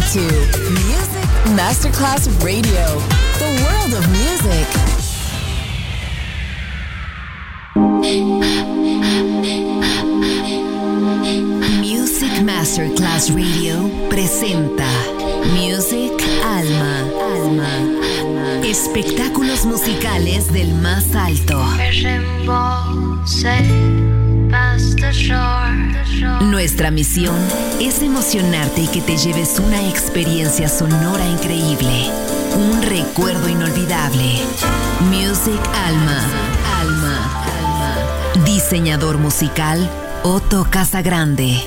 to Music Masterclass Radio, the world of music. Music Masterclass Radio presenta Music Alma. Espectáculos musicales del más alto. Nuestra misión es emocionarte y que te lleves una experiencia sonora increíble, un recuerdo inolvidable. Music Alma. Diseñador musical Otto Casagrande.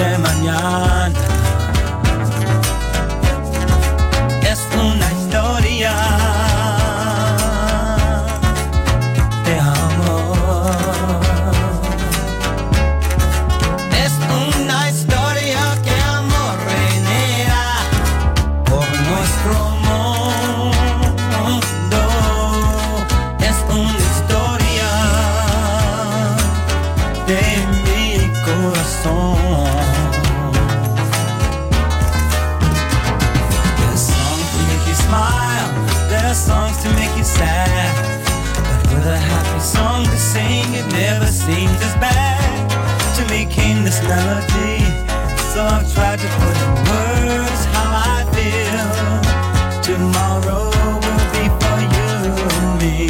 de mañana. Es una historia de amor. Es una historia que amor reina por nuestro mundo. Es una historia de mi corazón. There's songs to make you sad, but with a happy song to sing, it never seems as bad. To me came this melody, so I've tried to put in words how I feel. Tomorrow will be for you and me.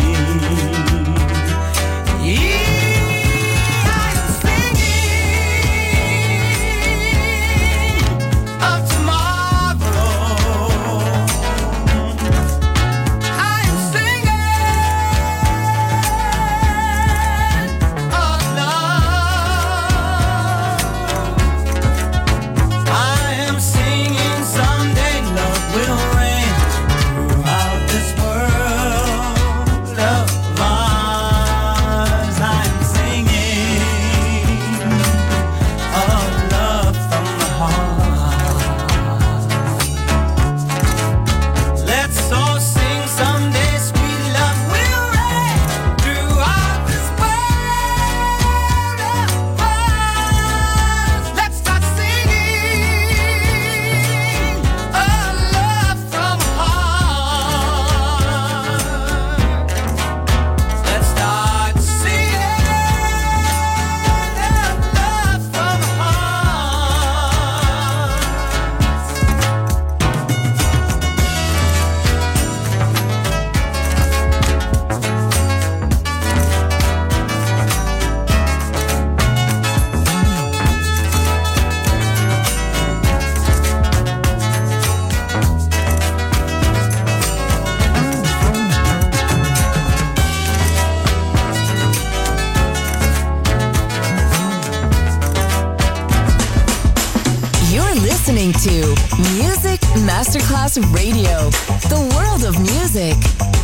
To Music Masterclass Radio, the world of music.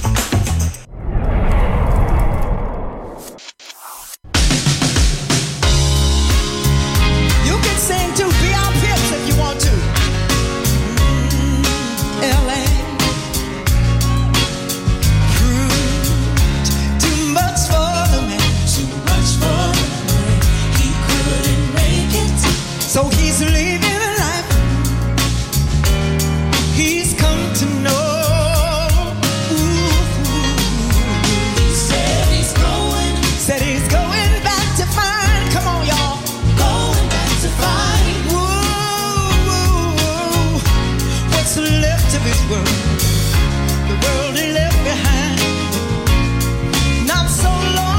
You can sing to Beyond Pips if you want to. LA. Too much for the man. Too much for the man. He couldn't make it. So he's leaving. To know. He said he's going back to find. Come on, y'all. Going back to find. What's left of his world? The world he left behind. Not so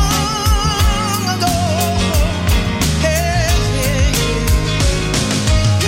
long ago. Hey, hey, hey.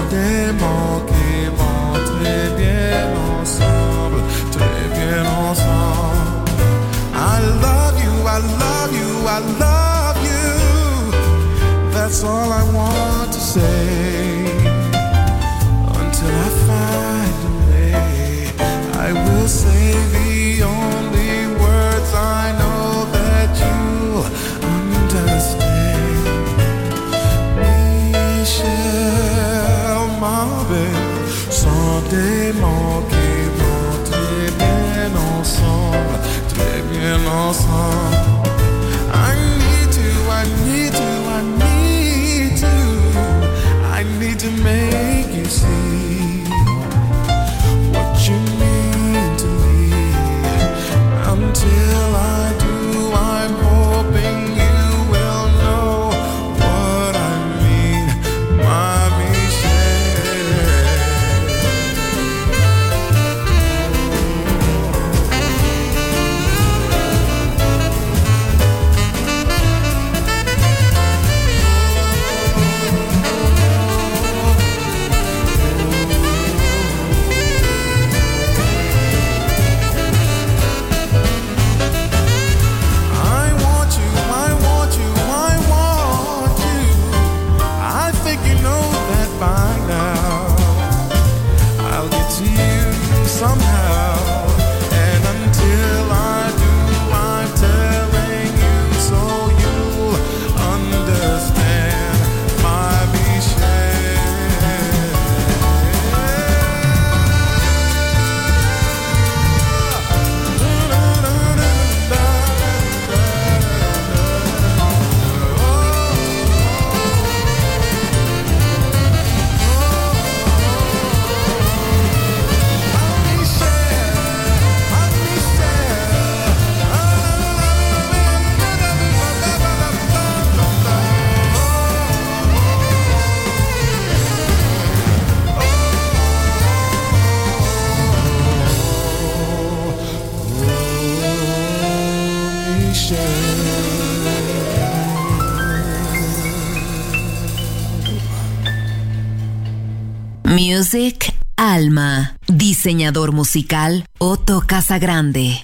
des mots qui vont très bien ensemble, très bien ensemble. I love you, I love you, I love you. That's all I want to say. Until I find a way, I will say the only words I know that you understand. Michel, ma belle, sont des mots qui vont très bien ensemble, très bien ensemble. I need to, I need to, I need to, I need to make you see what you mean to me. Until I do, I'm hoping you will know what I mean, my Music Alma. Diseñador musical Otto Casagrande.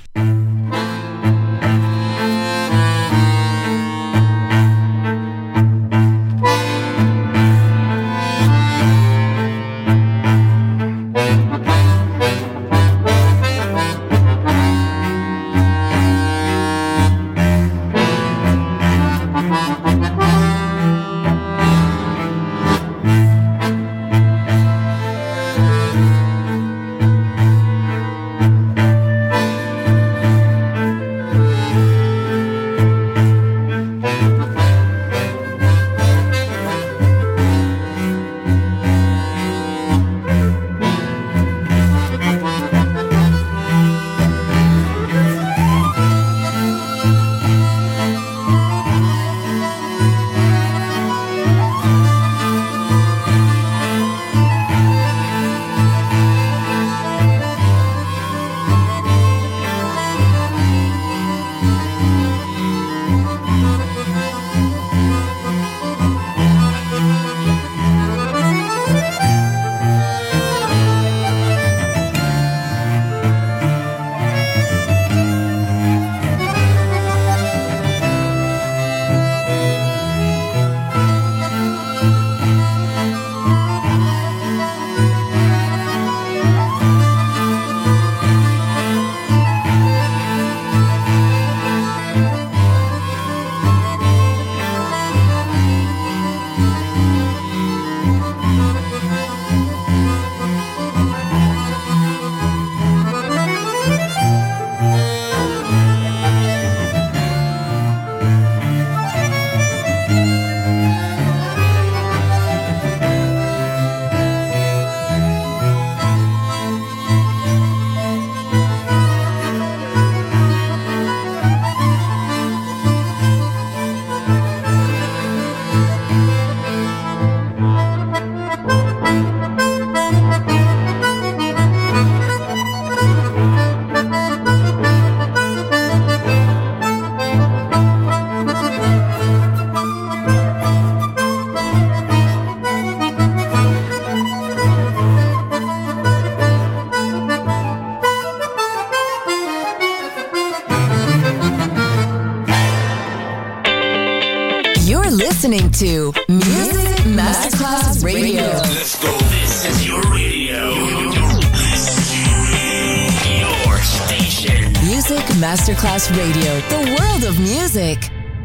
You're listening to Music Masterclass Radio. Let's go. This is your radio. Your station. Music Masterclass Radio. The world of music.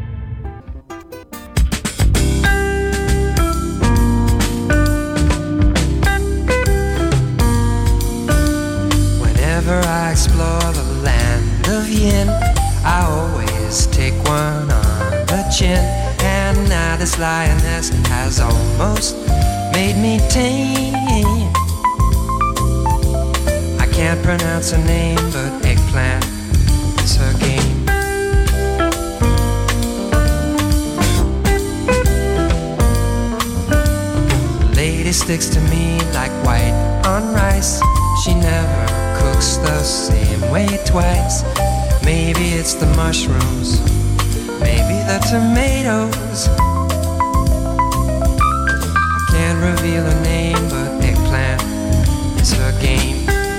Whenever I explore the land of yin, I always take one on the chin. And now this lioness has almost made me tame. I can't pronounce her name, but eggplant is her game. The lady sticks to me like white on rice. She never cooks the same way twice. Maybe it's the mushrooms, maybe the tomatoes. I can't reveal her name, but eggplant is her game.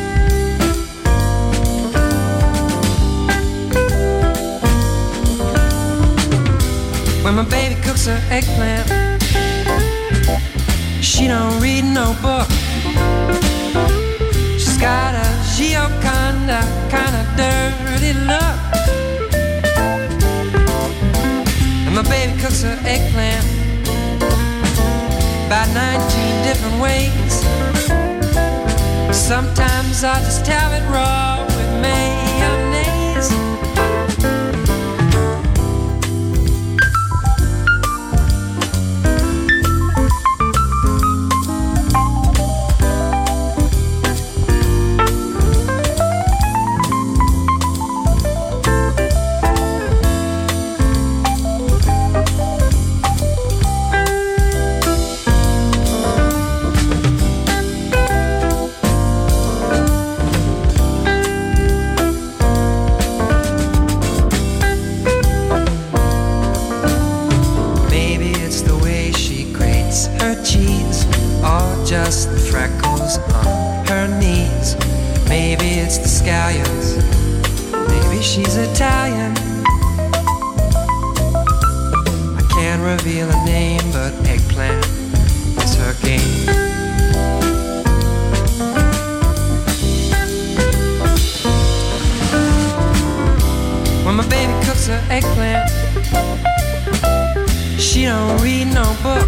When my baby cooks her eggplant, she don't read no book. She's got a Gioconda kind of dirty look. And my baby cooks her eggplant about 19 different ways. Sometimes I just have it raw with mayonnaise. Just the freckles on her knees. Maybe it's the scallions. Maybe she's Italian. I can't reveal her name, but eggplant is her game. When my baby cooks her eggplant, she don't read no book.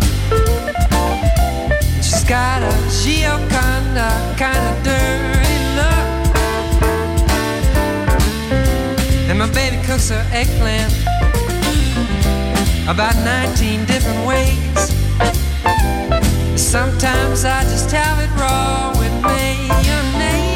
She's got a Gioconda kind of dirty look. And my baby cooks her eggplant about 19 different ways. Sometimes I just have it raw with mayonnaise.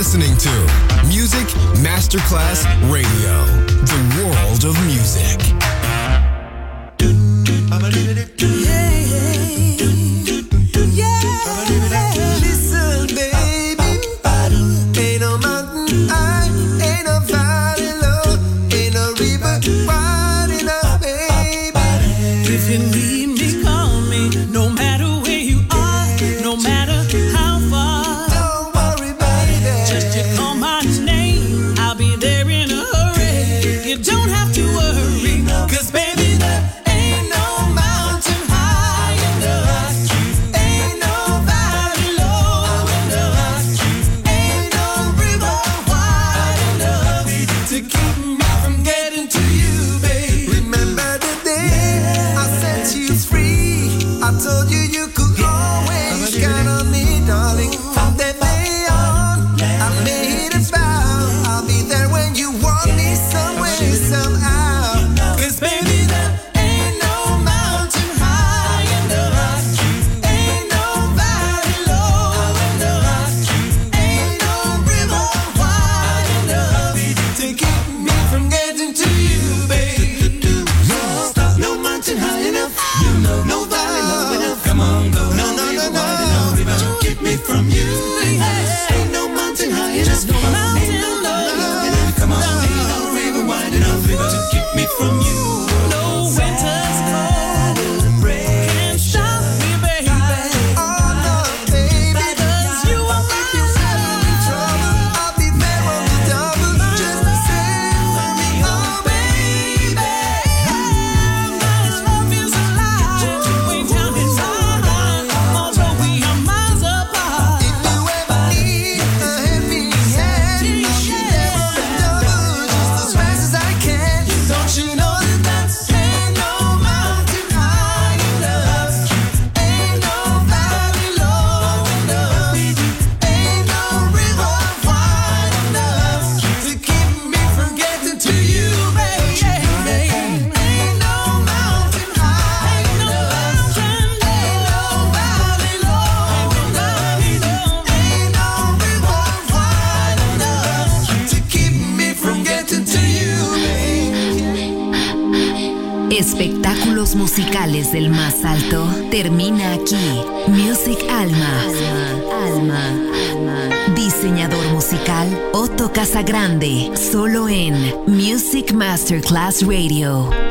listening to Music Masterclass Radio, the world of music. Listen, baby, ain't no mountain high, ain't no valley low, ain't no river wide enough, baby. If you need me, call me. No matter where you are, no matter how far. Don't worry, baby. Just you call my name, I'll be there in a hurry. You don't have to worry, 'cause baby, there ain't no mountain high enough, ain't no valley low enough, ain't no river wide enough to keep me from getting to you, babe. Remember the day I set you free. I told you you could always count on me, darling. From that day on, I made a vow. I'll be there when you want me some way, somehow. 'Cause baby, there ain't no mountain high enough, ain't no valley low enough, ain't no river wide enough to keep me from getting to you, babe. No mountain high enough, no valley low enough. Come on, go. No, river to keep me from you. Ain't no mountain high enough, No mountain low enough, come on, ain't no river wide enough to keep me from you. no winter's cold can't stop me, baby. Oh no, baby, Because you are if you ever in trouble, I'll be there on the double. Just say for me, oh baby. this love is alive, way down inside. Although we are miles apart, If you ever need a helping hand, I'll be there on the double, just as fast as I can. Don't you know that ain't no mountain high enough, ain't no valley low enough, ain't no river wide enough to keep me from getting to you, baby. Ain't no mountain high enough, ain't no valley low enough, ain't no river wide enough to keep me from getting to you, baby. Espectáculos musicales del más alto termina aquí. Music Alma. Diseñador musical Otto Casagrande. Solo en Music Masterclass Radio.